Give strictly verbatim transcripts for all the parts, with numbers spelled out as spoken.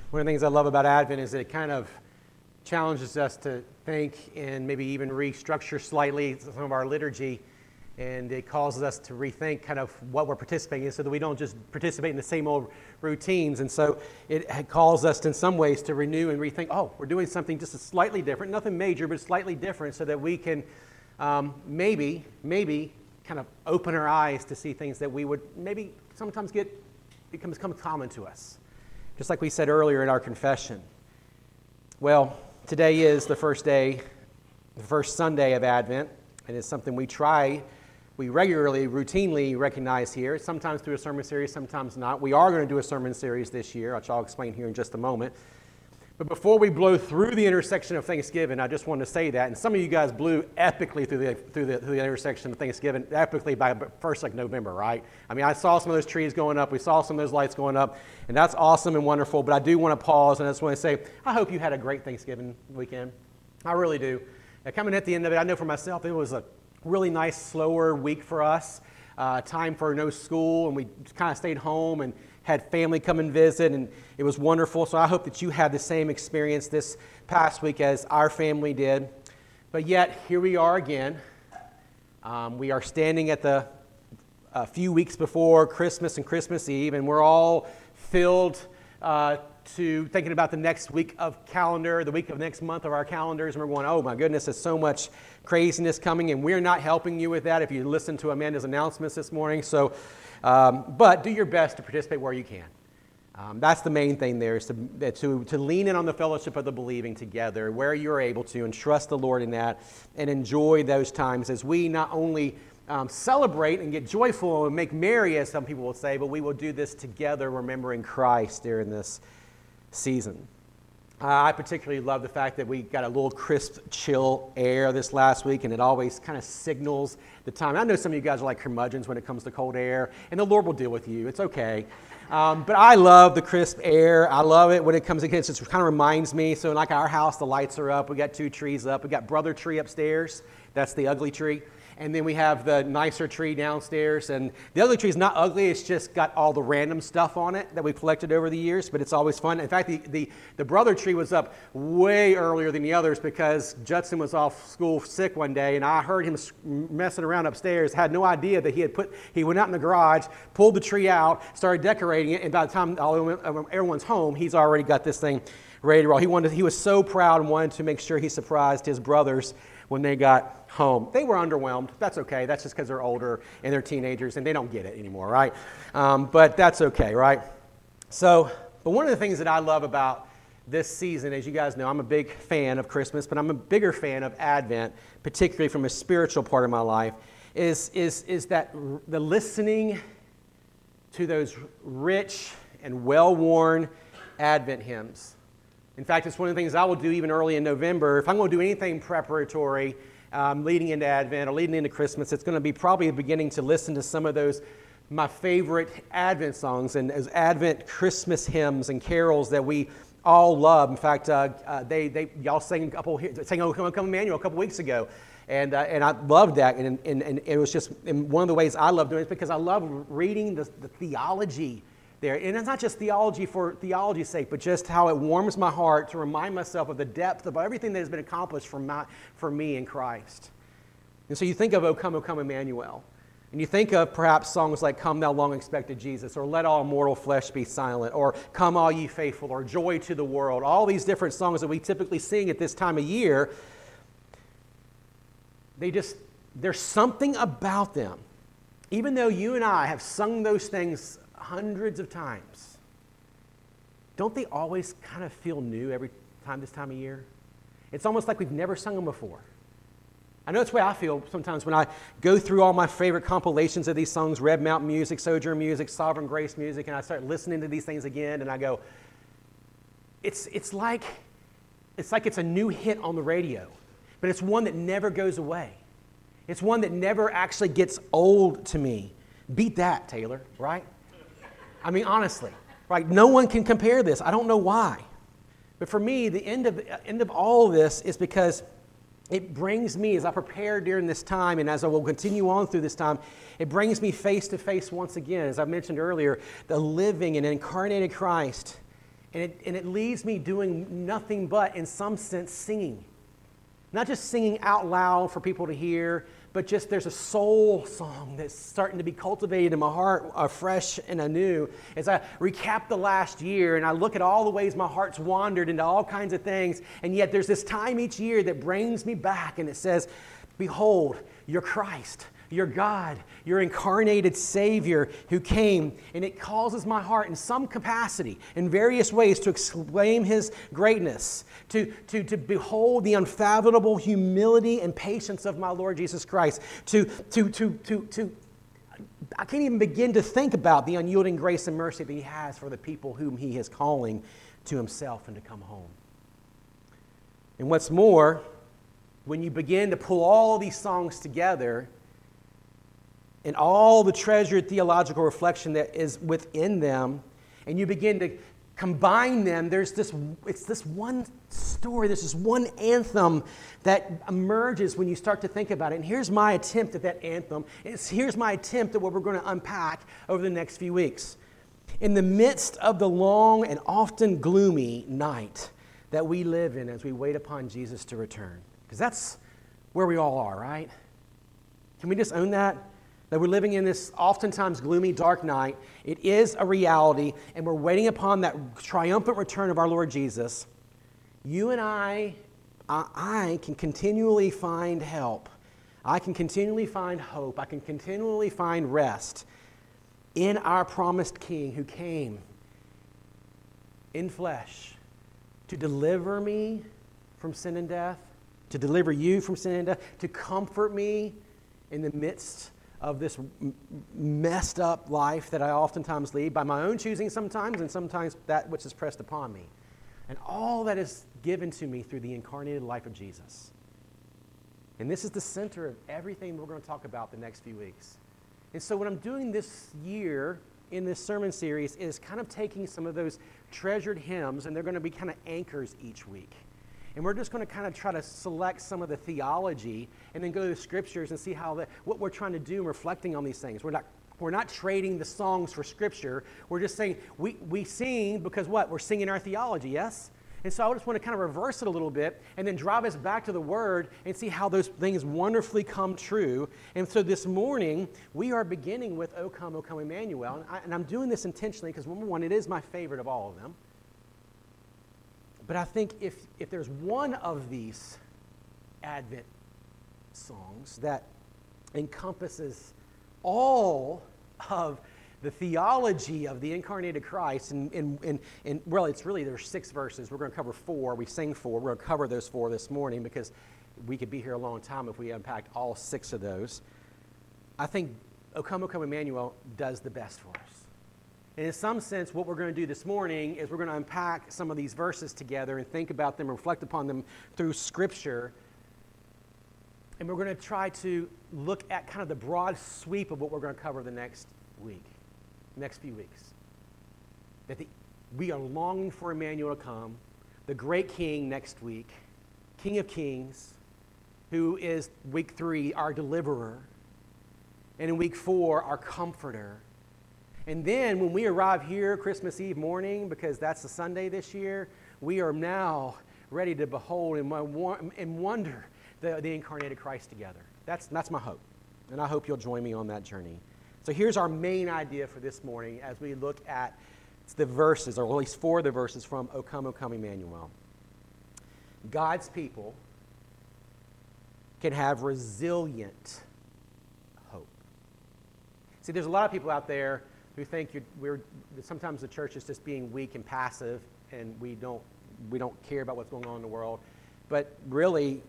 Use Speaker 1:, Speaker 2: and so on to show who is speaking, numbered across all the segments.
Speaker 1: One of the things I love about Advent is that it kind of challenges us to think and maybe even restructure slightly some of our liturgy, and it causes us to rethink kind of what we're participating in so that we don't just participate in the same old routines. And so it calls us in some ways to renew and rethink, oh, we're doing something just slightly different, nothing major, but slightly different, so that we can um, maybe, maybe kind of open our eyes to see things that we would maybe sometimes get, becomes common to us. Just like we said earlier in our confession. Well, today is the first day, the first Sunday of Advent, and it's something we try, we regularly, routinely recognize here, sometimes through a sermon series, sometimes not. We are going to do a sermon series this year, which I'll explain here in just a moment. But before we blow through the intersection of Thanksgiving, I just wanted to say that, and some of you guys blew epically through the through the, through the intersection of Thanksgiving, epically by first like November, right? I mean, I saw some of those trees going up, we saw some of those lights going up, and that's awesome and wonderful, but I do want to pause, and I just want to say, I hope you had a great Thanksgiving weekend. I really do. Now, coming at the end of it, I know for myself, it was a really nice, slower week for us, uh, time for no school, and we kind of stayed home and had family come and visit, and it was wonderful. So I hope that you had the same experience this past week as our family did. But yet, here we are again. Um, we are standing at the a few weeks before Christmas and Christmas Eve, and we're all filled uh, to thinking about the next week of calendar, the week of next month of our calendars, and we're going, oh my goodness, there's so much craziness coming, and we're not helping you with that if you listen to Amanda's announcements this morning. So, um, but do your best to participate where you can. Um, that's the main thing there, is to, to, to lean in on the fellowship of the believing together where you're able to, and trust the Lord in that, and enjoy those times as we not only um, celebrate and get joyful and make merry, as some people will say, but we will do this together, remembering Christ during this season. Uh, I particularly love the fact that we got a little crisp, chill air this last week, and it always kind of signals the time. I know some of you guys are like curmudgeons when it comes to cold air, and the Lord will deal with you. It's okay. Um, but I love the crisp air. I love it when it comes against. It kind of reminds me. So, like our house, the lights are up. We got two trees up. We got brother tree upstairs. That's the ugly tree. And then we have the nicer tree downstairs. And the ugly tree is not ugly. It's just got all the random stuff on it that we've collected over the years. But it's always fun. In fact, the, the, the brother tree was up way earlier than the others because Judson was off school sick one day. And I heard him messing around upstairs. Had no idea that he had put, he went out in the garage, pulled the tree out, started decorating it. And by the time all, everyone's home, he's already got this thing ready to roll. He wanted, he was so proud and wanted to make sure he surprised his brothers when they got home. They were underwhelmed. That's okay. That's just because they're older and they're teenagers and they don't get it anymore, right? Um, but that's okay, right? So, but one of the things that I love about this season, as you guys know, I'm a big fan of Christmas, but I'm a bigger fan of Advent, particularly from a spiritual part of my life, is, is, is that r- the listening to those rich and well-worn Advent hymns. In fact, it's one of the things I will do even early in November. If I'm going to do anything preparatory, um, leading into Advent or leading into Christmas, it's going to be probably beginning to listen to some of those, my favorite Advent songs and those Advent Christmas hymns and carols that we all love. In fact, uh, uh, they, they y'all sang a couple, sang "O Come, Come Emmanuel" a couple weeks ago, and uh, and I loved that. And, and and it was just and one of the ways I love doing it is because I love reading the, the theology there. And it's not just theology for theology's sake, but just how it warms my heart to remind myself of the depth of everything that has been accomplished for, my, for me in Christ. And so you think of "O Come, O Come Emmanuel," and you think of perhaps songs like "Come Thou Long Expected Jesus," or "Let All Mortal Flesh Be Silent," or "Come All Ye Faithful," or "Joy to the World," all these different songs that we typically sing at this time of year. They just, there's something about them. Even though you and I have sung those things hundreds of times, don't they always kind of feel new every time this time of year? It's almost like we've never sung them before. I know it's the way I feel sometimes when I go through all my favorite compilations of these songs, Red Mountain music, Sojourn music, Sovereign Grace music, and I start listening to these things again, and I go, it's it's like it's like it's a new hit on the radio, but it's one that never goes away. It's one that never actually gets old to me. Beat that, Taylor, right? I mean, honestly, right? No one can compare this. I don't know why. But for me, the end of, end of all of this is because it brings me, as I prepare during this time and as I will continue on through this time, it brings me face to face once again, as I mentioned earlier, the living and incarnated Christ And it, and it leaves me doing nothing but, in some sense, singing. Not just singing out loud for people to hear, but just there's a soul song that's starting to be cultivated in my heart afresh and anew. As I recap the last year and I look at all the ways my heart's wandered into all kinds of things, and yet there's this time each year that brings me back and it says, behold, you're Christ. You're God, your incarnated Savior who came, and it causes my heart in some capacity, in various ways, to exclaim His greatness, to, to, to behold the unfathomable humility and patience of my Lord Jesus Christ, to, to, to, to, to, I can't even begin to think about the unyielding grace and mercy that He has for the people whom He is calling to Himself and to come home. And what's more, when you begin to pull all these songs together, and all the treasured theological reflection that is within them, and you begin to combine them, there's this, it's this one story, there's this one anthem that emerges when you start to think about it. And here's my attempt at that anthem. It's, here's my attempt at what we're going to unpack over the next few weeks. In the midst of the long and often gloomy night that we live in as we wait upon Jesus to return, because that's where we all are, right? Can we just own that? That we're living in this oftentimes gloomy, dark night. It is a reality, and we're waiting upon that triumphant return of our Lord Jesus. You and I, I, I can continually find help. I can continually find hope. I can continually find rest in our promised King who came in flesh to deliver me from sin and death, to deliver you from sin and death, to comfort me in the midst of this m- messed up life that I oftentimes lead by my own choosing sometimes, and sometimes that which is pressed upon me. And all that is given to me through the incarnated life of Jesus. And this is the center of everything we're going to talk about the next few weeks. And so what I'm doing this year in this sermon series is kind of taking some of those treasured hymns, and they're going to be kind of anchors each week. And we're just going to kind of try to select some of the theology and then go to the scriptures and see how the, what we're trying to do in reflecting on these things. We're not, we're not trading the songs for scripture. We're just saying we, we sing because what? We're singing our theology, yes? And so I just want to kind of reverse it a little bit and then drive us back to the Word and see how those things wonderfully come true. And so this morning, we are beginning with O Come, O Come Emmanuel. And, I, and I'm doing this intentionally because, number one, it is my favorite of all of them. But I think if, if there's one of these Advent songs that encompasses all of the theology of the incarnated Christ, and, and, and, and well, it's really, there's six verses. We're going to cover four. We sing four. We're going to cover those four this morning because we could be here a long time if we unpacked all six of those. I think O Come, O Come Emmanuel does the best for us. And in some sense, what we're going to do this morning is we're going to unpack some of these verses together and think about them, reflect upon them through Scripture. And we're going to try to look at kind of the broad sweep of what we're going to cover the next week, next few weeks. That the, we are longing for Emmanuel to come, the great King next week, King of Kings, who is week three, our deliverer, and in week four, our comforter. And then when we arrive here Christmas Eve morning, because that's the Sunday this year, we are now ready to behold and, and wonder the, the incarnated Christ together. That's, that's my hope. And I hope you'll join me on that journey. So here's our main idea for this morning as we look at the verses, or at least four of the verses from O Come, O Come Emmanuel. God's people can have resilient hope. See, there's a lot of people out there who think you're, we're, sometimes the church is just being weak and passive, and we don't, we don't care about what's going on in the world. But really,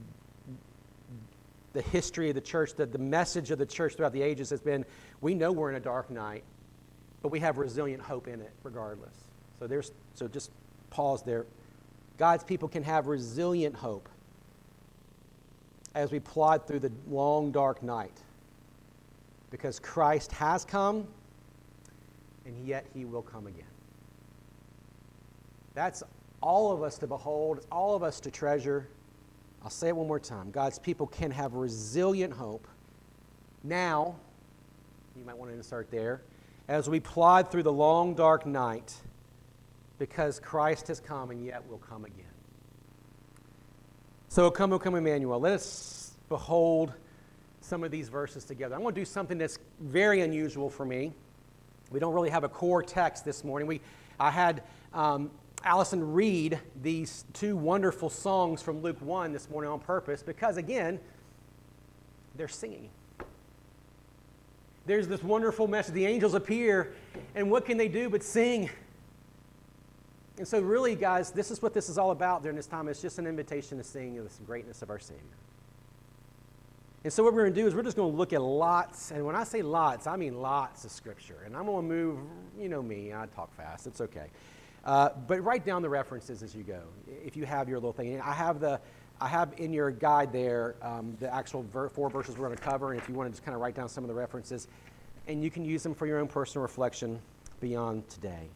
Speaker 1: the history of the church, the, the message of the church throughout the ages has been, we know we're in a dark night, but we have resilient hope in it regardless. So there's, so just pause there. God's people can have resilient hope as we plod through the long, dark night, because Christ has come, and yet He will come again. That's all of us to behold. It's all of us to treasure. I'll say it one more time. God's people can have resilient hope now, you might want to insert there, as we plod through the long, dark night, because Christ has come and yet will come again. So, O come, O come, Emmanuel. Let us behold some of these verses together. I'm going to do something that's very unusual for me. We don't really have a core text this morning. We, I had um, Allison read these two wonderful songs from Luke one this morning on purpose because, again, they're singing. There's this wonderful message. The angels appear, and what can they do but sing? And so really, guys, this is what this is all about during this time. It's just an invitation to sing the greatness of our Savior. And so what we're going to do is we're just going to look at lots, and when I say lots, I mean lots of Scripture. And I'm going to move, you know me, I talk fast, it's okay. Uh, but write down the references as you go, if you have your little thing. And I have the, I have in your guide there um, the actual ver- four verses we're going to cover, and if you want to just kind of write down some of the references, and you can use them for your own personal reflection beyond today.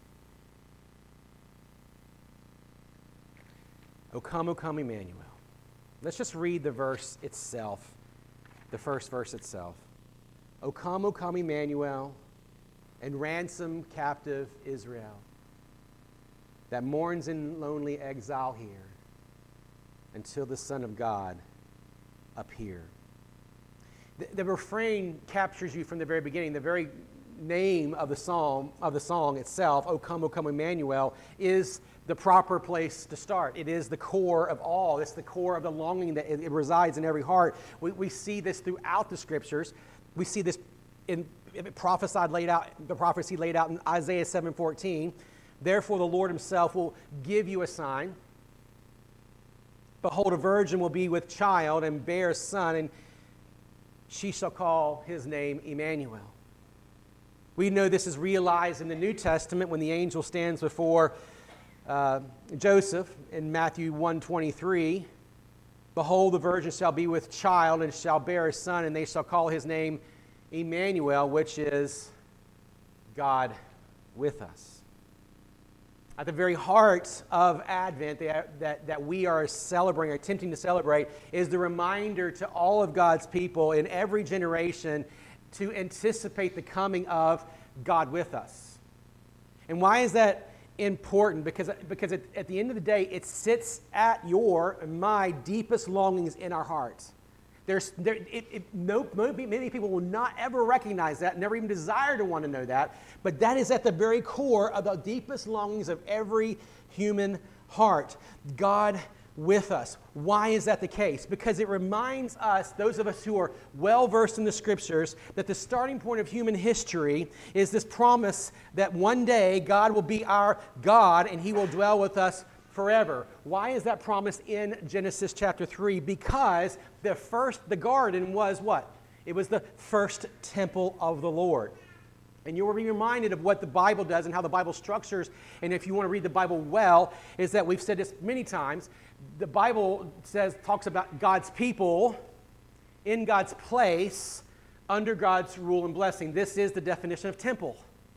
Speaker 1: O come, O come, Emmanuel. Let's just read the verse itself, the first verse itself. O come, O come, Emmanuel, and ransom captive Israel that mourns in lonely exile here until the Son of God appear. The, the refrain captures you from the very beginning. The very name of the psalm, of the song itself, O come, O come, Emmanuel, is the proper place to start. It is the core of all. It's the core of the longing that it, it resides in every heart. We, we see this throughout the Scriptures. We see this in prophesied laid out, the prophecy laid out in Isaiah seven fourteen. Therefore the Lord himself will give you a sign. Behold, a virgin will be with child and bear a son, and she shall call his name Emmanuel. We know this is realized in the New Testament when the angel stands before uh, Joseph in Matthew one twenty-three. Behold, the virgin shall be with child and shall bear a son, and they shall call his name Emmanuel, which is God with us. At the very heart of Advent that, that, that we are celebrating, or attempting to celebrate, is the reminder to all of God's people in every generation to anticipate the coming of God with us. And why is that important? Because, because at, at the end of the day, it sits at your and my deepest longings in our hearts. There's, there, it, it, no, many people will not ever recognize that, never even desire to want to know that, but that is at the very core of the deepest longings of every human heart. God with us. Why is that the case? Because it reminds us, those of us who are well-versed in the Scriptures, that the starting point of human history is this promise that one day God will be our God and He will dwell with us forever. Why is that promise in Genesis chapter three? Because the first, the garden was what? It was the first temple of the Lord. And you will be reminded of what the Bible does and how the Bible structures. And if you want to read the Bible well, is that we've said this many times. The Bible says, talks about God's people in God's place under God's rule and blessing. This is the definition of temple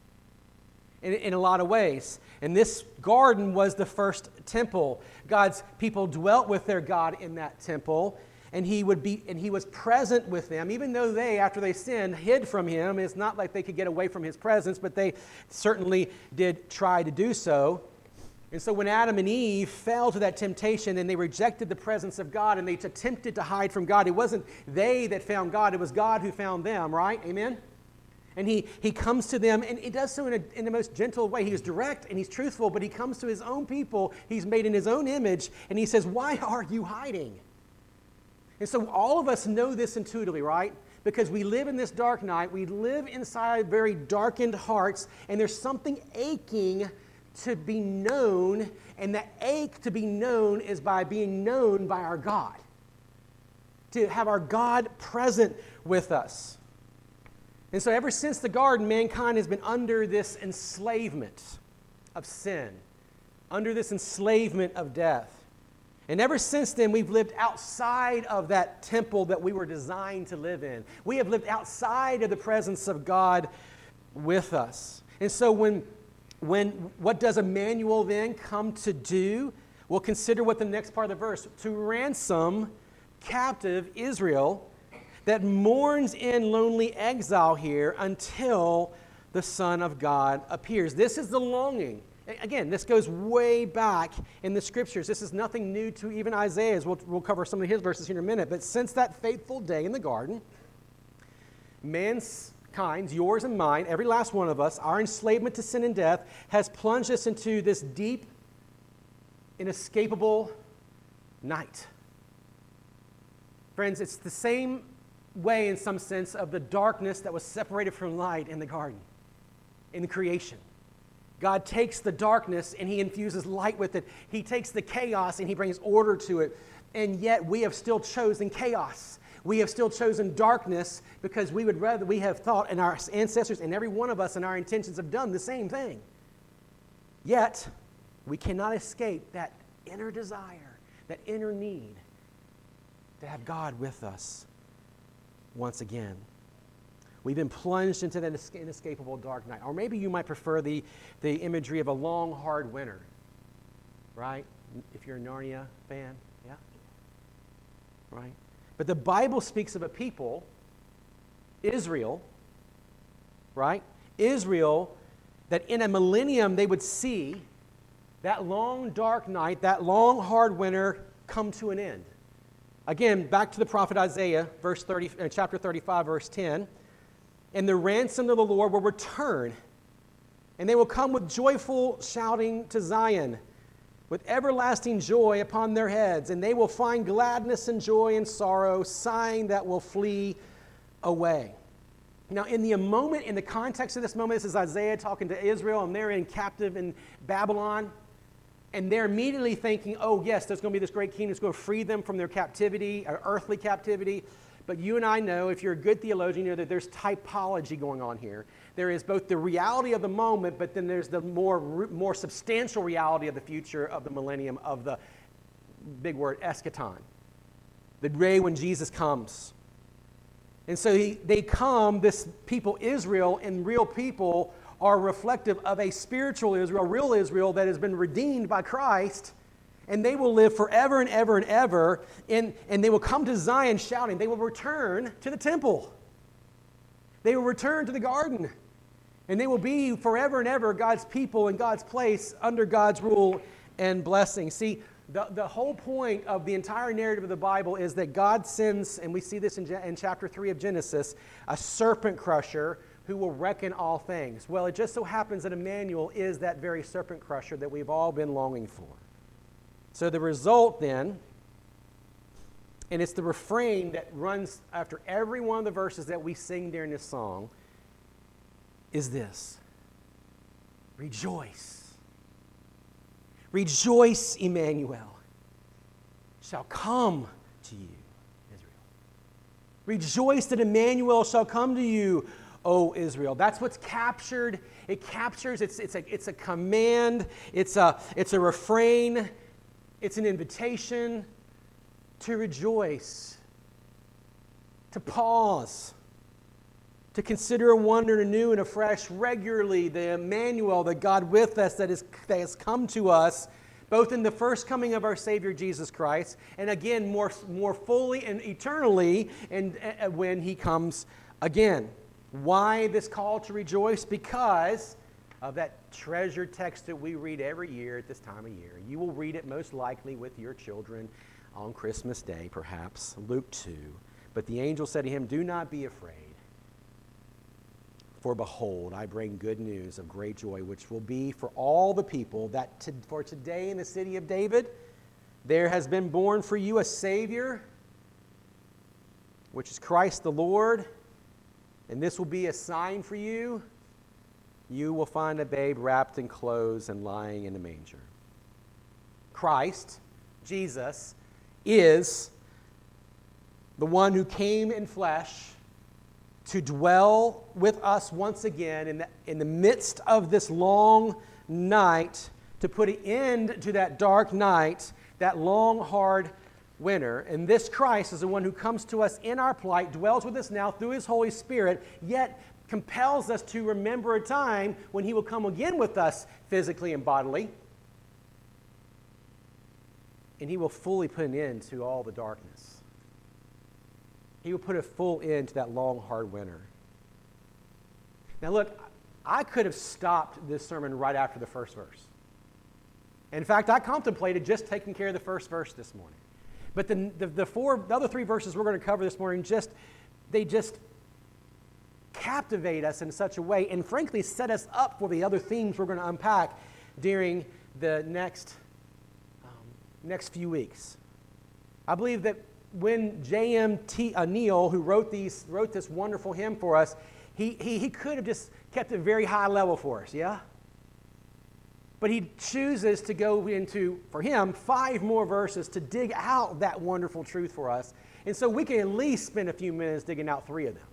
Speaker 1: in, in a lot of ways. And this garden was the first temple. God's people dwelt with their God in that temple. And he would be, and he was present with them, even though they, after they sinned, hid from him. It's not like they could get away from his presence, but they certainly did try to do so. And so when Adam and Eve fell to that temptation and they rejected the presence of God and they attempted to hide from God, it wasn't they that found God, it was God who found them, right? Amen? And he, he comes to them, and he does so in, a, in the most gentle way. He's direct and he's truthful, but he comes to his own people. He's made in his own image, and he says, why are you hiding? And so all of us know this intuitively, right? Because we live in this dark night. We live inside very darkened hearts, and there's something aching to be known, and that ache to be known is by being known by our God. To have our God present with us. And so ever since the garden, mankind has been under this enslavement of sin, under this enslavement of death. And ever since then, we've lived outside of that temple that we were designed to live in. We have lived outside of the presence of God with us. And so when, when what does Emmanuel then come to do? Well, consider what the next part of the verse, to ransom captive Israel that mourns in lonely exile here until the Son of God appears. This is the longing Again, this goes way back in the Scriptures. This is nothing new to even Isaiah. We'll, we'll cover some of his verses here in a minute. But since that fateful day in the garden, mankind's, yours and mine, every last one of us, our enslavement to sin and death has plunged us into this deep, inescapable night. Friends, it's the same way in some sense of the darkness that was separated from light in the garden, in the creation. God takes the darkness and he infuses light with it. He takes the chaos and he brings order to it. And yet we have still chosen chaos. We have still chosen darkness because we would rather, we have thought, and our ancestors and every one of us and our intentions have done the same thing. Yet, we cannot escape that inner desire, that inner need to have God with us once again. We've been plunged into that inescapable dark night. Or maybe you might prefer the, the imagery of a long, hard winter, right? If you're a Narnia fan, yeah? Right? But the Bible speaks of a people, Israel, right? Israel, that in a millennium they would see that long, dark night, that long, hard winter come to an end. Again, back to the prophet Isaiah, verse thirty, uh, chapter thirty-five, verse ten. And the ransomed of the Lord will return, and they will come with joyful shouting to Zion, with everlasting joy upon their heads, and they will find gladness and joy and sorrow, sighing that will flee away. Now, in the moment, in the context of this moment, this is Isaiah talking to Israel, and they're in captive in Babylon, and they're immediately thinking, oh, yes, there's going to be this great king that's going to free them from their captivity, or earthly captivity. But you and I know, if you're a good theologian, you know that there's typology going on here. There is both the reality of the moment, but then there's the more, more substantial reality of the future of the millennium, of the big word, eschaton, the day when Jesus comes. And so he, they come, this people, Israel, and real people are reflective of a spiritual Israel, real Israel that has been redeemed by Christ. And they will live forever and ever and ever, and, and they will come to Zion shouting. They will return to the temple. They will return to the garden. And they will be forever and ever God's people in God's place under God's rule and blessing. See, the, the whole point of the entire narrative of the Bible is that God sends, and we see this in, in chapter three of Genesis, a serpent crusher who will reckon all things. Well, it just so happens that Emmanuel is that very serpent crusher that we've all been longing for. So the result then, and it's the refrain that runs after every one of the verses that we sing during this song, is this: rejoice. Rejoice, Emmanuel shall come to you, Israel. Rejoice that Emmanuel shall come to you, O Israel. That's what's captured. It captures, it's, it's, a, it's a command, it's a, it's a refrain. It's an invitation to rejoice, to pause, to consider and wonder anew and afresh regularly the Emmanuel, the God with us that, is, that has come to us, both in the first coming of our Savior Jesus Christ, and again more, more fully and eternally and, uh, when He comes again. Why this call to rejoice? Because of that treasured text that we read every year at this time of year. You will read it most likely with your children on Christmas Day, perhaps, Luke two. But the angel said to him, do not be afraid, for behold, I bring good news of great joy, which will be for all the people, that to, for today in the city of David, there has been born for you a Savior, which is Christ the Lord, and this will be a sign for you. You will find a babe wrapped in clothes and lying in a manger. Christ, Jesus, is the one who came in flesh to dwell with us once again in the, in the midst of this long night, to put an end to that dark night, that long, hard winter. And this Christ is the one who comes to us in our plight, dwells with us now through His Holy Spirit, yet compels us to remember a time when He will come again with us physically and bodily. And He will fully put an end to all the darkness. He will put a full end to that long, hard winter. Now look, I could have stopped this sermon right after the first verse. In fact, I contemplated just taking care of the first verse this morning. But the, the, the four, the other three verses we're going to cover this morning, just they just captivate us in such a way and frankly set us up for the other themes we're going to unpack during the next, um, next few weeks. I believe that when J M T Uh, Neal, who wrote these, wrote this wonderful hymn for us, he, he, he could have just kept it very high level for us, yeah? But he chooses to go into, for him, five more verses to dig out that wonderful truth for us. And so we can at least spend a few minutes digging out three of them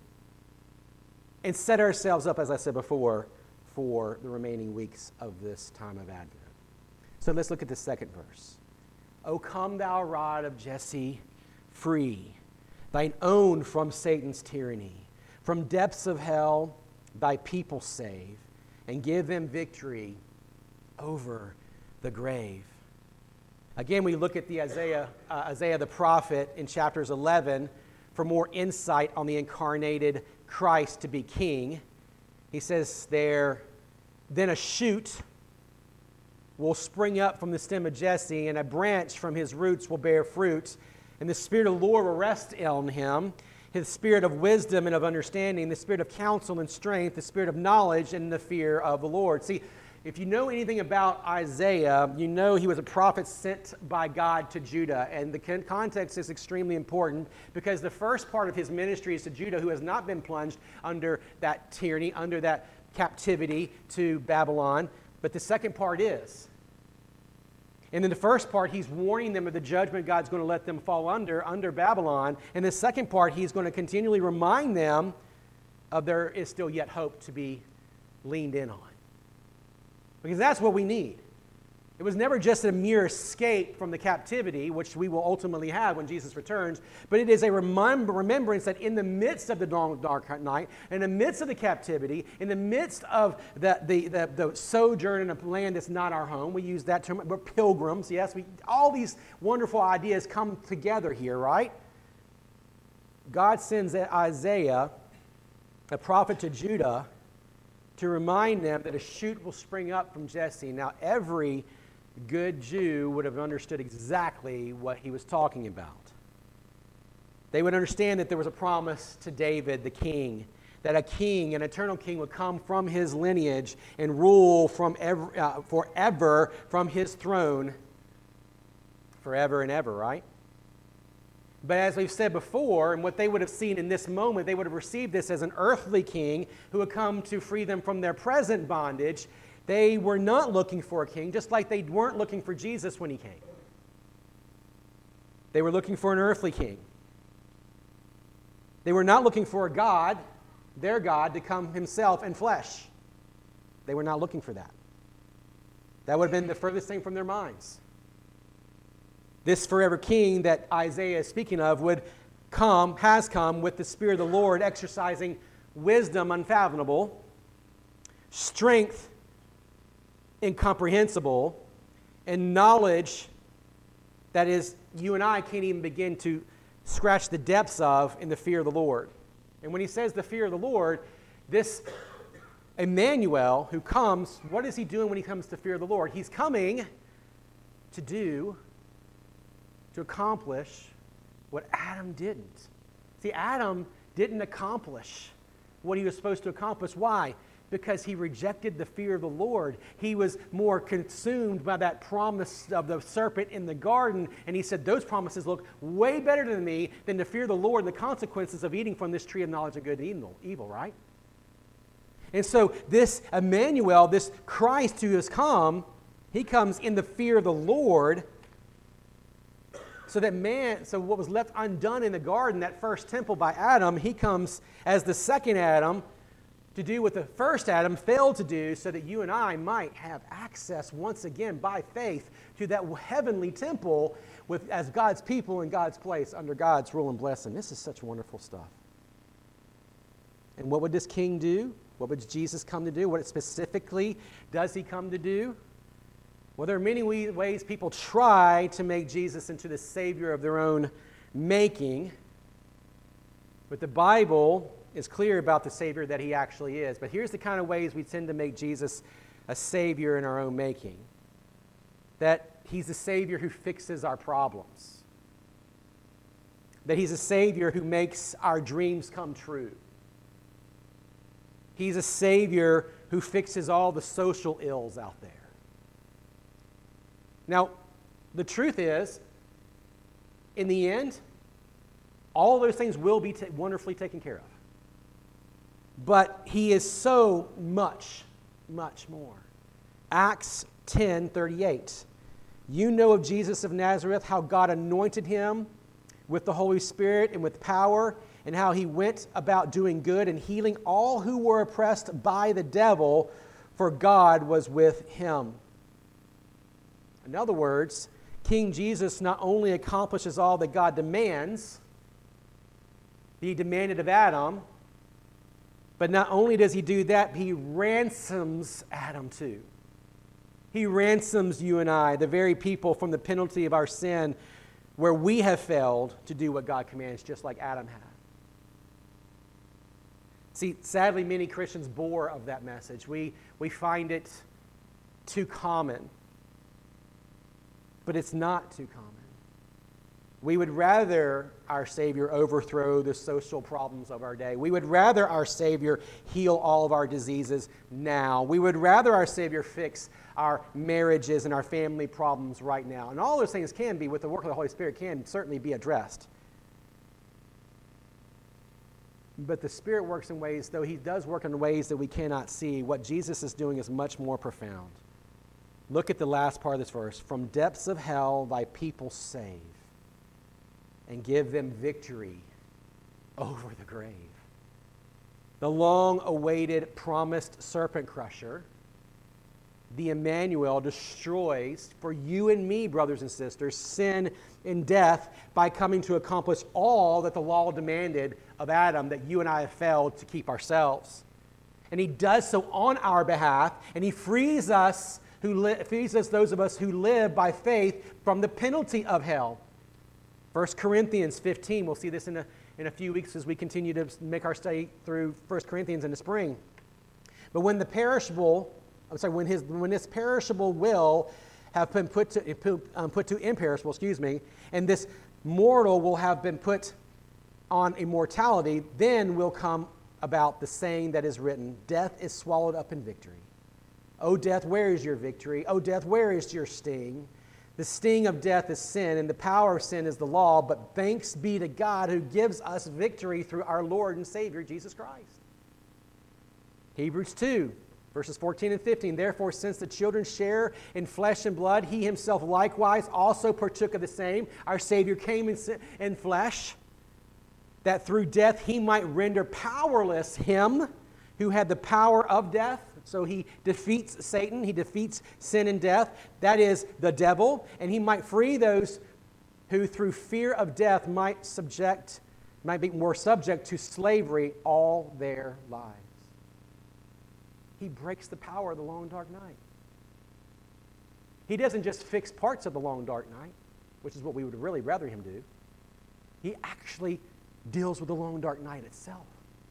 Speaker 1: and set ourselves up, as I said before, for the remaining weeks of this time of Advent. So let's look at the second verse. O come thou rod of Jesse, free, thine own from Satan's tyranny. From depths of hell, thy people save, and give them victory over the grave. Again, we look at the Isaiah, uh, Isaiah the prophet in chapters eleven for more insight on the incarnated Christ to be king. He says there, then a shoot will spring up from the stem of Jesse, and a branch from his roots will bear fruit, and the Spirit of the Lord will rest on him, his spirit of wisdom and of understanding, the spirit of counsel and strength, the spirit of knowledge and the fear of the Lord. See, if you know anything about Isaiah, you know he was a prophet sent by God to Judah. And the context is extremely important because the first part of his ministry is to Judah, who has not been plunged under that tyranny, under that captivity to Babylon. But the second part is. And in the first part, he's warning them of the judgment God's going to let them fall under, under Babylon. And the second part, he's going to continually remind them of there is still yet hope to be leaned in on. Because that's what we need. It was never just a mere escape from the captivity, which we will ultimately have when Jesus returns, but it is a remember, remembrance that in the midst of the dark night, in the midst of the captivity, in the midst of the, the, the, the sojourn in a land that's not our home, we use that term, we're pilgrims, yes, we, all these wonderful ideas come together here, right? God sends Isaiah, a prophet to Judah, to remind them that a shoot will spring up from Jesse. Now, every good Jew would have understood exactly what he was talking about. They would understand that there was a promise to David, the king, that a king, an eternal king, would come from his lineage and rule from ever, uh, forever from his throne, forever and ever, right? But as we've said before, and what they would have seen in this moment, they would have received this as an earthly king who would come to free them from their present bondage. They were not looking for a king, just like they weren't looking for Jesus when he came. They were looking for an earthly king. They were not looking for a God, their God, to come himself in flesh. They were not looking for that. That would have been the furthest thing from their minds. This forever king that Isaiah is speaking of would come, has come with the Spirit of the Lord exercising wisdom unfathomable, strength incomprehensible, and knowledge that is you and I can't even begin to scratch the depths of in the fear of the Lord. And when he says the fear of the Lord, this Emmanuel who comes, what is he doing when he comes to fear of the Lord? He's coming to do, to accomplish what Adam didn't. See, Adam didn't accomplish what he was supposed to accomplish. Why? Because he rejected the fear of the Lord. He was more consumed by that promise of the serpent in the garden, and he said, those promises look way better to me than to fear the Lord and the consequences of eating from this tree of knowledge of good and evil, evil, right? And so this Emmanuel, this Christ who has come, he comes in the fear of the Lord, so that man, so what was left undone in the garden, that first temple by Adam, he comes as the second Adam to do what the first Adam failed to do, so that you and I might have access once again by faith to that heavenly temple with as God's people in God's place under God's rule and blessing. This is such wonderful stuff. And what would this king do? What would Jesus come to do? What specifically does he come to do? Well, there are many ways people try to make Jesus into the Savior of their own making, but the Bible is clear about the Savior that he actually is. But here's the kind of ways we tend to make Jesus a Savior in our own making. that he's a Savior who fixes our problems, that he's a Savior who makes our dreams come true. He's a Savior who fixes all the social ills out there. Now, the truth is, in the end, all of those things will be t- wonderfully taken care of. But he is so much, much more. Acts ten thirty-eight. You know of Jesus of Nazareth, how God anointed him with the Holy Spirit and with power, and how he went about doing good and healing all who were oppressed by the devil, for God was with him. In other words, King Jesus not only accomplishes all that God demands, he demanded of Adam, but not only does he do that, he ransoms Adam too. He ransoms you and I, the very people, from the penalty of our sin, where we have failed to do what God commands, just like Adam had. See, sadly, many Christians bore of that message. We, we find it too common. But it's not too common. We would rather our Savior overthrow the social problems of our day. We would rather our Savior heal all of our diseases now. We would rather our Savior fix our marriages and our family problems right now. And all those things can be, with the work of the Holy Spirit, can certainly be addressed. But the Spirit works in ways, though he does work in ways that we cannot see, what Jesus is doing is much more profound. Look at the last part of this verse. From depths of hell thy people save, and give them victory over the grave. The long-awaited, promised serpent crusher, the Emmanuel, destroys for you and me, brothers and sisters, sin and death by coming to accomplish all that the law demanded of Adam that you and I have failed to keep ourselves. And he does so on our behalf, and he frees us, who li- frees us, those of us who live by faith, from the penalty of hell. First Corinthians fifteen, we'll see this in a, in a few weeks as we continue to make our study through First Corinthians in the spring. But when the perishable, I'm sorry, when his when this perishable will have been put to um, put to imperishable, excuse me, and this mortal will have been put on immortality, then will come about the saying that is written, death is swallowed up in victory. O death, where is your victory? O death, where is your sting? The sting of death is sin, and the power of sin is the law, but thanks be to God who gives us victory through our Lord and Savior, Jesus Christ. Hebrews two, verses fourteen and fifteen. Therefore, since the children share in flesh and blood, he himself likewise also partook of the same. Our Savior came in, in flesh, that through death he might render powerless him who had the power of death. So he defeats Satan, he defeats sin and death, that is the devil, and he might free those who through fear of death might subject, might be more subject to slavery all their lives. He breaks the power of the long dark night. He doesn't just fix parts of the long dark night, which is what we would really rather him do. He actually deals with the long dark night itself.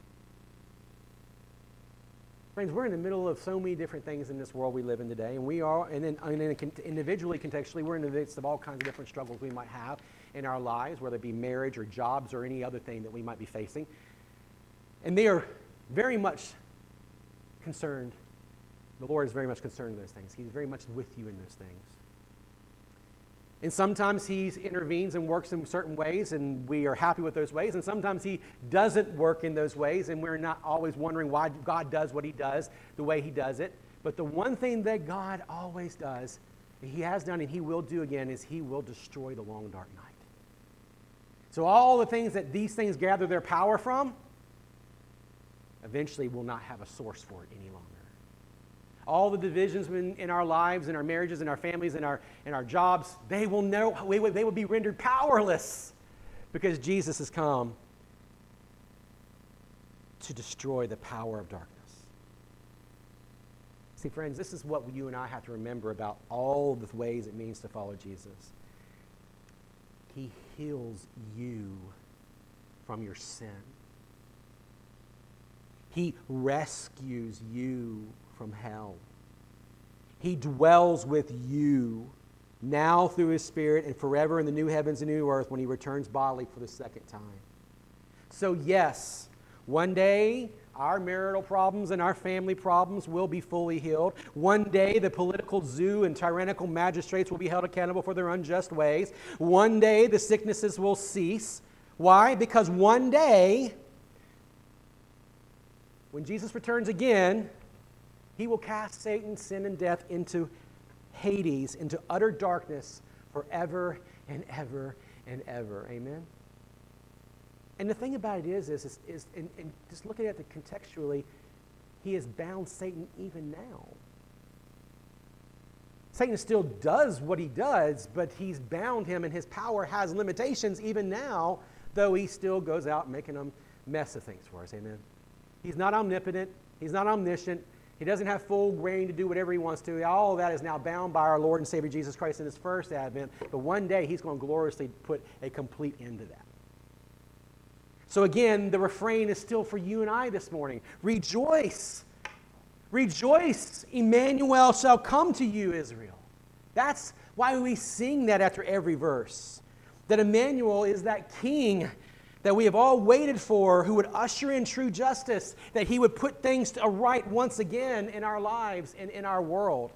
Speaker 1: Friends, we're in the middle of so many different things in this world we live in today, and we are, and then, and then individually, contextually, we're in the midst of all kinds of different struggles we might have in our lives, whether it be marriage or jobs or any other thing that we might be facing. And they are very much concerned. The Lord is very much concerned with those things. He's very much with you in those things. And sometimes he intervenes and works in certain ways, and we are happy with those ways. And sometimes he doesn't work in those ways, and we're not always wondering why God does what he does the way he does it. But the one thing that God always does, and he has done and he will do again, is he will destroy the long dark night. So all the things that these things gather their power from, eventually will not have a source for it any longer. All the divisions in, in our lives, in our marriages, in our families, in our, in our jobs, they will, know, they will be rendered powerless because Jesus has come to destroy the power of darkness. See, friends, this is what you and I have to remember about all the ways it means to follow Jesus. He heals you from your sin. He rescues you from hell. He dwells with you now through his Spirit, and forever in the new heavens and new earth when he returns bodily for the second time. So yes, one day our marital problems and our family problems will be fully healed. One day the political zoo and tyrannical magistrates will be held accountable for their unjust ways. One day the sicknesses will cease. Why? Because one day, when Jesus returns again, he will cast Satan, sin, and death into Hades, into utter darkness forever and ever and ever. Amen? And the thing about it is, is, is, is and, and just looking at it contextually, he has bound Satan even now. Satan still does what he does, but he's bound him, and his power has limitations even now, though he still goes out making a mess of things for us. Amen? He's not omnipotent. He's not omniscient. He doesn't have full reign to do whatever he wants to. All of that is now bound by our Lord and Savior Jesus Christ in his first advent. But one day he's going to gloriously put a complete end to that. So again, the refrain is still for you and I this morning. Rejoice. Rejoice. Emmanuel shall come to you, Israel. That's why we sing that after every verse. That Emmanuel is that king that we have all waited for, who would usher in true justice, that he would put things to right once again in our lives and in our world.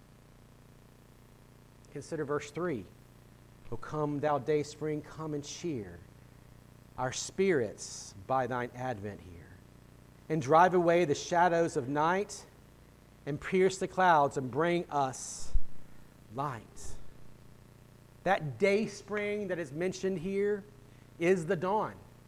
Speaker 1: Consider verse three. O come, thou day spring, come and cheer our spirits by thine advent here, and drive away the shadows of night, and pierce the clouds, and bring us light. That day spring that is mentioned here is the dawn.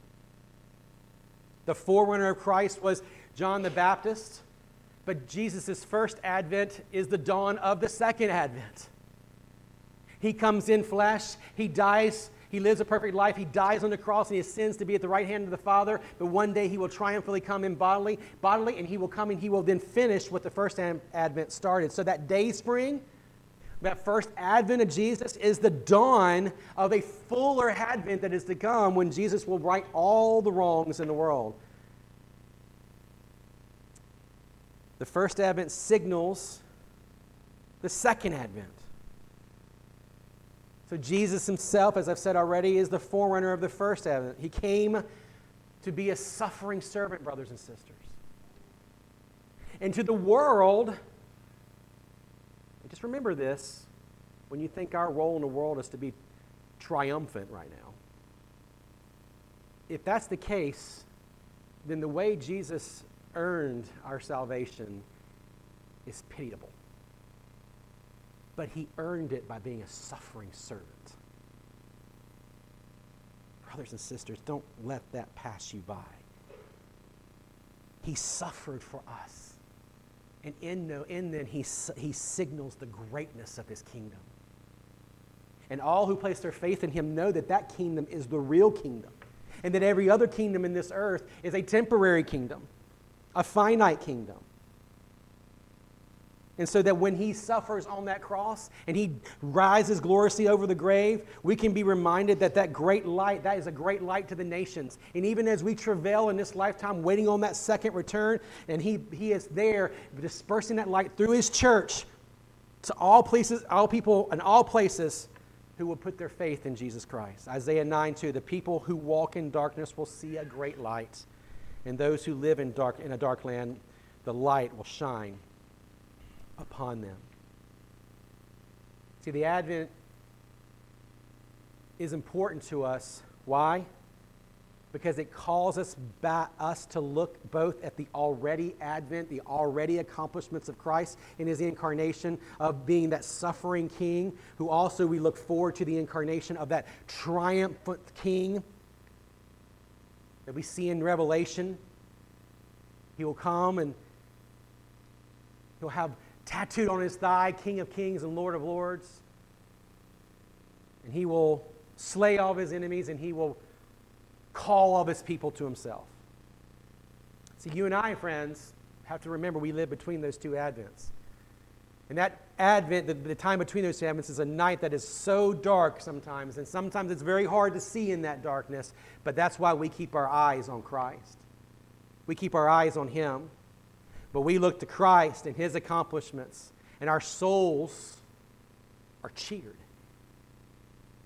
Speaker 1: The forerunner of Christ was John the Baptist, but Jesus' first advent is the dawn of the second advent. He comes in flesh, he dies, he lives a perfect life, he dies on the cross, and he ascends to be at the right hand of the Father, but one day he will triumphantly come in bodily, bodily, and he will come and he will then finish what the first advent started. So that day spring, that first advent of Jesus is the dawn of a fuller advent that is to come when Jesus will right all the wrongs in the world. The first advent signals the second advent. So Jesus himself, as I've said already, is the forerunner of the first advent. He came to be a suffering servant, brothers and sisters. And to the world, just remember this, when you think our role in the world is to be triumphant right now. If that's the case, then the way Jesus earned our salvation is pitiable. But he earned it by being a suffering servant. Brothers and sisters, don't let that pass you by. He suffered for us. And in, no, in then, he, he signals the greatness of his kingdom. And all who place their faith in him know that that kingdom is the real kingdom. And that every other kingdom in this earth is a temporary kingdom, a finite kingdom. And so that when he suffers on that cross and he rises gloriously over the grave, we can be reminded that that great light, that is a great light to the nations. And even as we travail in this lifetime waiting on that second return, and he, he is there dispersing that light through his church to all places, all people and all places who will put their faith in Jesus Christ. Isaiah nine two, the people who walk in darkness will see a great light. And those who live in dark in a dark land, the light will shine upon them. See, the Advent is important to us. Why? Because it calls us back, us to look both at the already Advent, the already accomplishments of Christ in his incarnation of being that suffering king, who also we look forward to the incarnation of that triumphant king that we see in Revelation. He will come and he'll have tattooed on his thigh, King of Kings and Lord of Lords. And he will slay all of his enemies, and he will call all of his people to himself. See, you and I, friends, have to remember we live between those two Advents. And that Advent, the, the time between those two Advents, is a night that is so dark sometimes, and sometimes it's very hard to see in that darkness, but that's why we keep our eyes on Christ. We keep our eyes on him. But we look to Christ and his accomplishments, and our souls are cheered.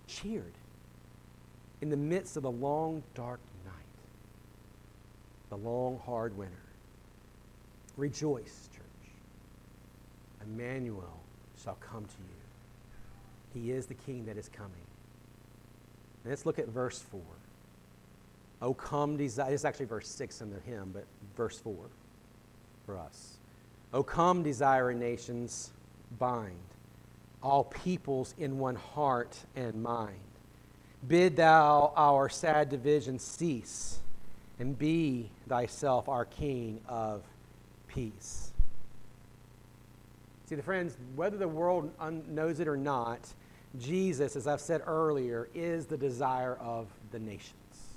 Speaker 1: cheered in the midst of the long, dark night, the long, hard winter. Rejoice, church. Emmanuel shall come to you. He is the King that is coming. And let's look at verse four. Oh, come, desire. It's actually verse six in the hymn, but verse four for us. Oh, come, desiring nations, bind all peoples in one heart and mind. Bid thou our sad division cease, and be thyself our King of peace. See, the friends, whether the world un- knows it or not, Jesus, as I've said earlier, is the desire of the nations.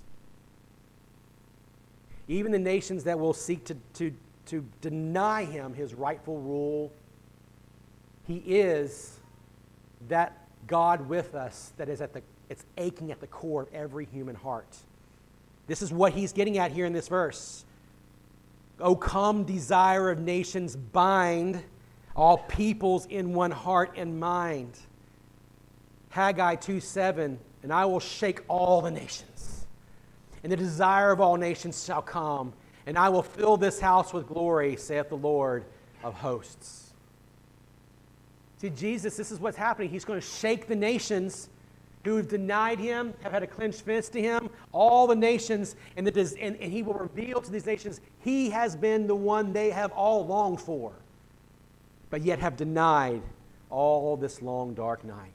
Speaker 1: Even the nations that will seek to, to, to deny him his rightful rule, he is that God with us that is at the, it's aching at the core of every human heart. This is what he's getting at here in this verse. O come, desire of nations, bind all peoples in one heart and mind. Haggai two seven, and I will shake all the nations, and the desire of all nations shall come, and I will fill this house with glory, saith the Lord of hosts. See, Jesus, this is what's happening. He's going to shake the nations who have denied him, have had a clenched fist to him, all the nations, and, the, and, and he will reveal to these nations he has been the one they have all longed for, but yet have denied all this long, dark night.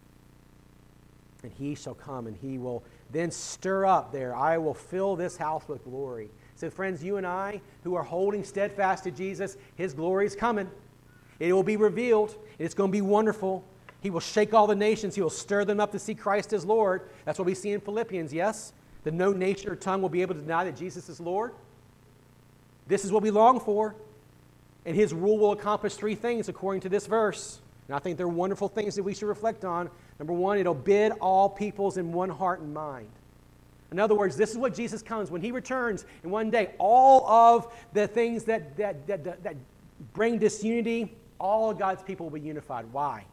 Speaker 1: And he shall come, and he will then stir up there. I will fill this house with glory. So, friends, you and I, who are holding steadfast to Jesus, his glory is coming. It will be revealed. And it's going to be wonderful. He will shake all the nations. He will stir them up to see Christ as Lord. That's what we see in Philippians, yes? That no nation or tongue will be able to deny that Jesus is Lord. This is what we long for. And his rule will accomplish three things according to this verse. And I think they're wonderful things that we should reflect on. Number one, it'll bid all peoples in one heart and mind. In other words, this is what Jesus comes. When he returns, and one day, all of the things that, that, that, that, that bring disunity, all of God's people will be unified. Why?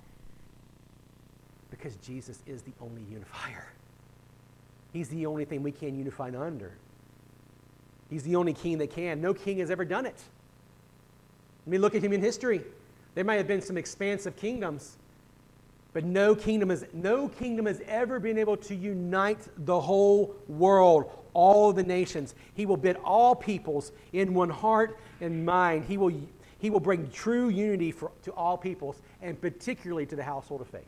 Speaker 1: Because Jesus is the only unifier. He's the only thing we can unify under. He's the only king that can. No king has ever done it. I mean, look at human history. There might have been some expansive kingdoms, but no kingdom has, no kingdom has ever been able to unite the whole world, all of the nations. He will bid all peoples in one heart and mind. He will, he will bring true unity for, to all peoples, and particularly to the household of faith.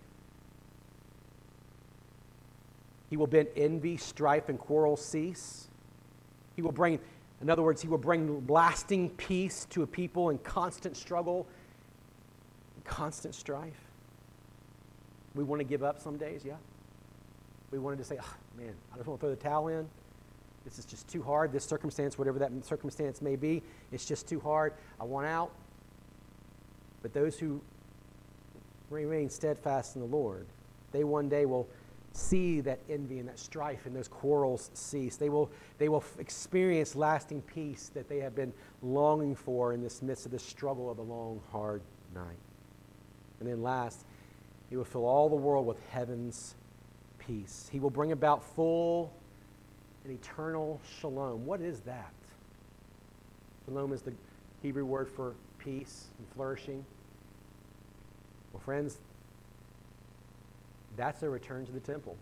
Speaker 1: He will bid envy, strife, and quarrel cease. He will bring, in other words, he will bring lasting peace to a people in constant struggle, constant strife. We want to give up some days, yeah. We wanted to say, oh, man, I just want to throw the towel in. This is just too hard. This circumstance, whatever that circumstance may be, it's just too hard. I want out. But those who remain steadfast in the Lord, they one day will see that envy and that strife and those quarrels cease. They will, they will experience lasting peace that they have been longing for in this midst of the struggle of a long, hard night. And then last, he will fill all the world with heaven's peace. He will bring about full and eternal shalom. What is that? Shalom is the Hebrew word for peace and flourishing. Well, friends, that's a return to the temple.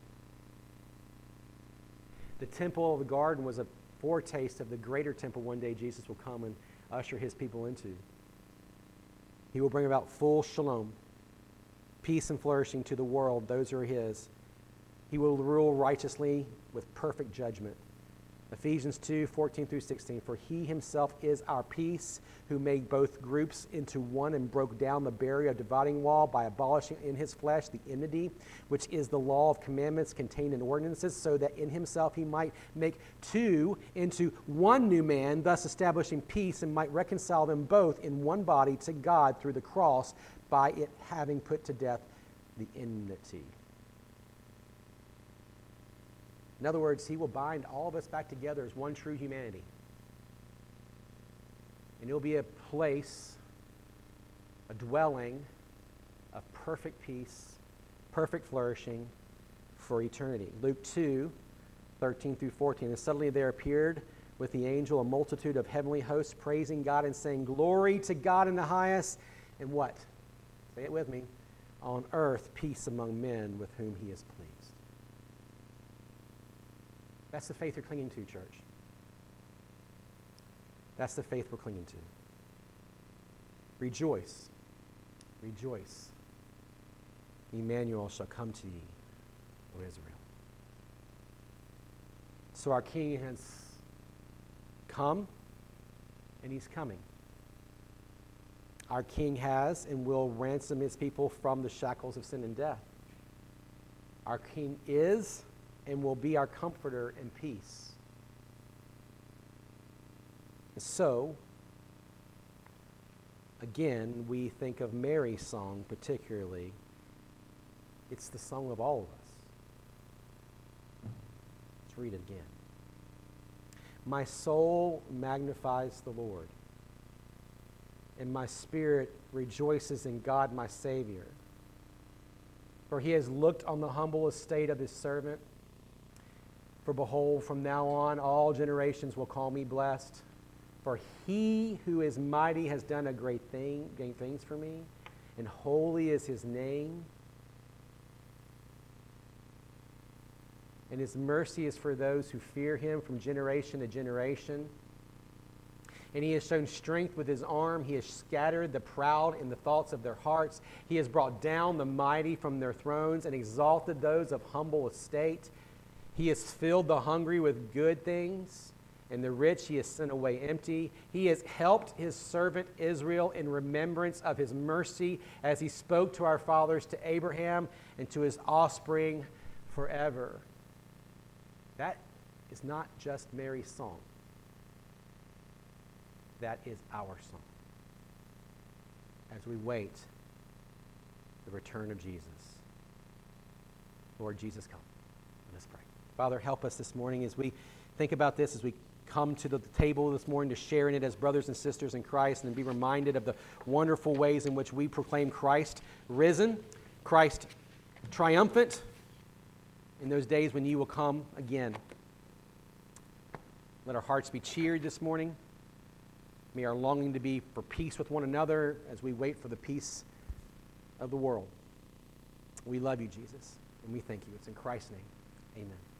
Speaker 1: The temple of the garden was a foretaste of the greater temple one day Jesus will come and usher his people into. He will bring about full shalom, peace and flourishing to the world, those who are his. He will rule righteously with perfect judgment. Ephesians two, fourteen through sixteen, for he himself is our peace, who made both groups into one and broke down the barrier dividing wall by abolishing in his flesh the enmity, which is the law of commandments contained in ordinances, so that in himself he might make two into one new man, thus establishing peace, and might reconcile them both in one body to God through the cross, by it having put to death the enmity. In other words, he will bind all of us back together as one true humanity. And it will be a place, a dwelling of perfect peace, perfect flourishing, for eternity. Luke two, thirteen through fourteen. And suddenly there appeared with the angel a multitude of heavenly hosts, praising God and saying, "Glory to God in the highest." And what? Say it with me. On earth, peace among men with whom he is pleased. That's the faith you're clinging to, church. That's the faith we're clinging to. Rejoice. Rejoice. Emmanuel shall come to thee, O Israel. So our King has come, and he's coming. Our King has and will ransom his people from the shackles of sin and death. Our King is and will be our comforter and peace. And so, again, we think of Mary's song particularly. It's the song of all of us. Let's read it again. My soul magnifies the Lord, and my spirit rejoices in God my Savior. For he has looked on the humble estate of his servant. For behold, from now on all generations will call me blessed. For he who is mighty has done a great thing, great things for me, and holy is his name. And his mercy is for those who fear him from generation to generation. And he has shown strength with his arm. He has scattered the proud in the thoughts of their hearts. He has brought down the mighty from their thrones and exalted those of humble estate. He has filled the hungry with good things, and the rich he has sent away empty. He has helped his servant Israel in remembrance of his mercy, as he spoke to our fathers, to Abraham, and to his offspring forever. That is not just Mary's song. That is our song as we wait the return of Jesus. Lord Jesus, come. Let us pray. Father, help us this morning as we think about this, as we come to the table this morning to share in it as brothers and sisters in Christ, and be reminded of the wonderful ways in which we proclaim Christ risen, Christ triumphant, in those days when you will come again. Let our hearts be cheered this morning. May our longing to be for peace with one another as we wait for the peace of the world. We love you, Jesus, and we thank you. It's in Christ's name. Amen.